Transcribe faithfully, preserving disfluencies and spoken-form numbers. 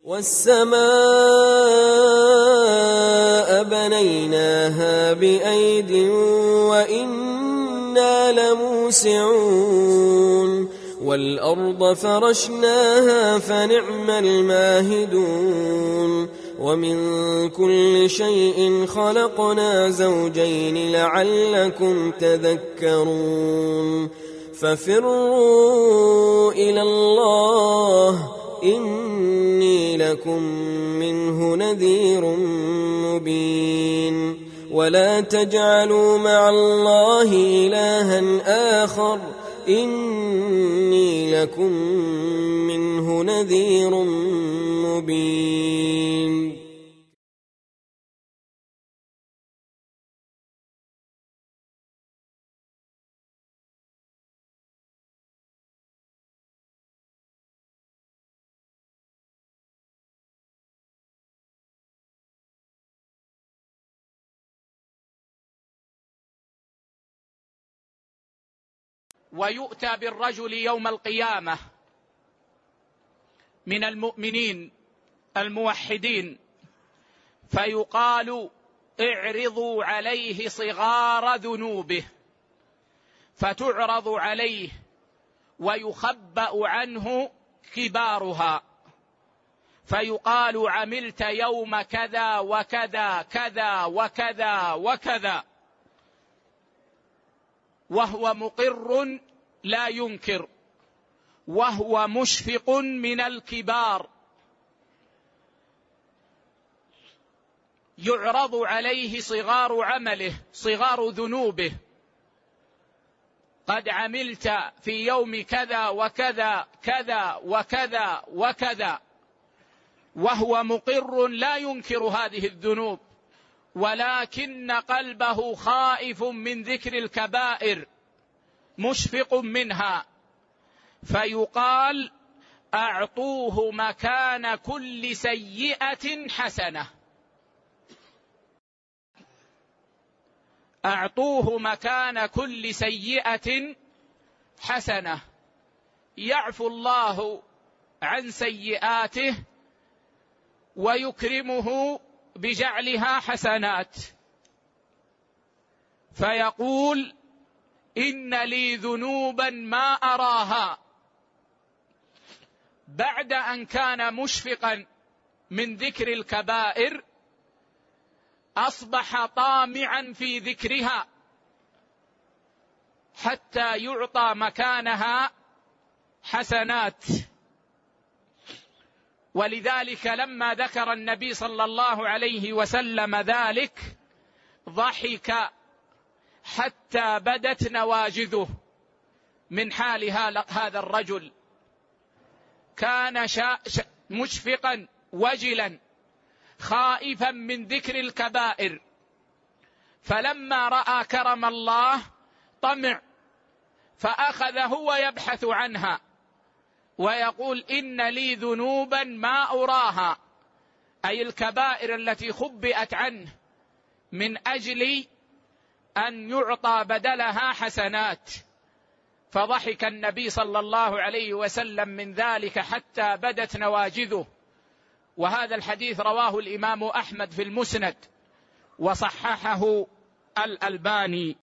والسماء بنيناها بأيد وإنا لموسعون والأرض فرشناها فنعم الماهدون ومن كل شيء خلقنا زوجين لعلكم تذكرون ففروا إلى الله إني لكم منه نذير مبين ولا تجعلوا مع الله إلها آخر إني لكم منه نذير مبين. ويؤتى بالرجل يوم القيامة من المؤمنين الموحدين فيقال اعرضوا عليه صغار ذنوبه فتعرض عليه ويخبأ عنه كبارها فيقال عملت يوم كذا وكذا كذا وكذا وكذا وهو مقر لا ينكر وهو مشفق من الكبار يعرض عليه صغار عمله صغار ذنوبه قد عملت في يوم كذا وكذا كذا وكذا وكذا وهو مقر لا ينكر هذه الذنوب ولكن قلبه خائف من ذكر الكبائر مشفق منها فيقال أعطوه مكان كل سيئة حسنة أعطوه مكان كل سيئة حسنة يعفو الله عن سيئاته ويكرمه بجعلها حسنات فيقول إن لي ذنوبا ما أراها بعد أن كان مشفقا من ذكر الكبائر أصبح طامعا في ذكرها حتى يعطى مكانها حسنات. ولذلك لما ذكر النبي صلى الله عليه وسلم ذلك ضحك حتى بدت نواجذه من حال هذا الرجل كان مشفقا وجلا خائفا من ذكر الكبائر فلما رأى كرم الله طمع فأخذ هو يبحث عنها ويقول إن لي ذنوبا ما أراها أي الكبائر التي خبئت عنه من أجل أن يعطى بدلها حسنات فضحك النبي صلى الله عليه وسلم من ذلك حتى بدت نواجذه. وهذا الحديث رواه الإمام أحمد في المسند وصححه الألباني.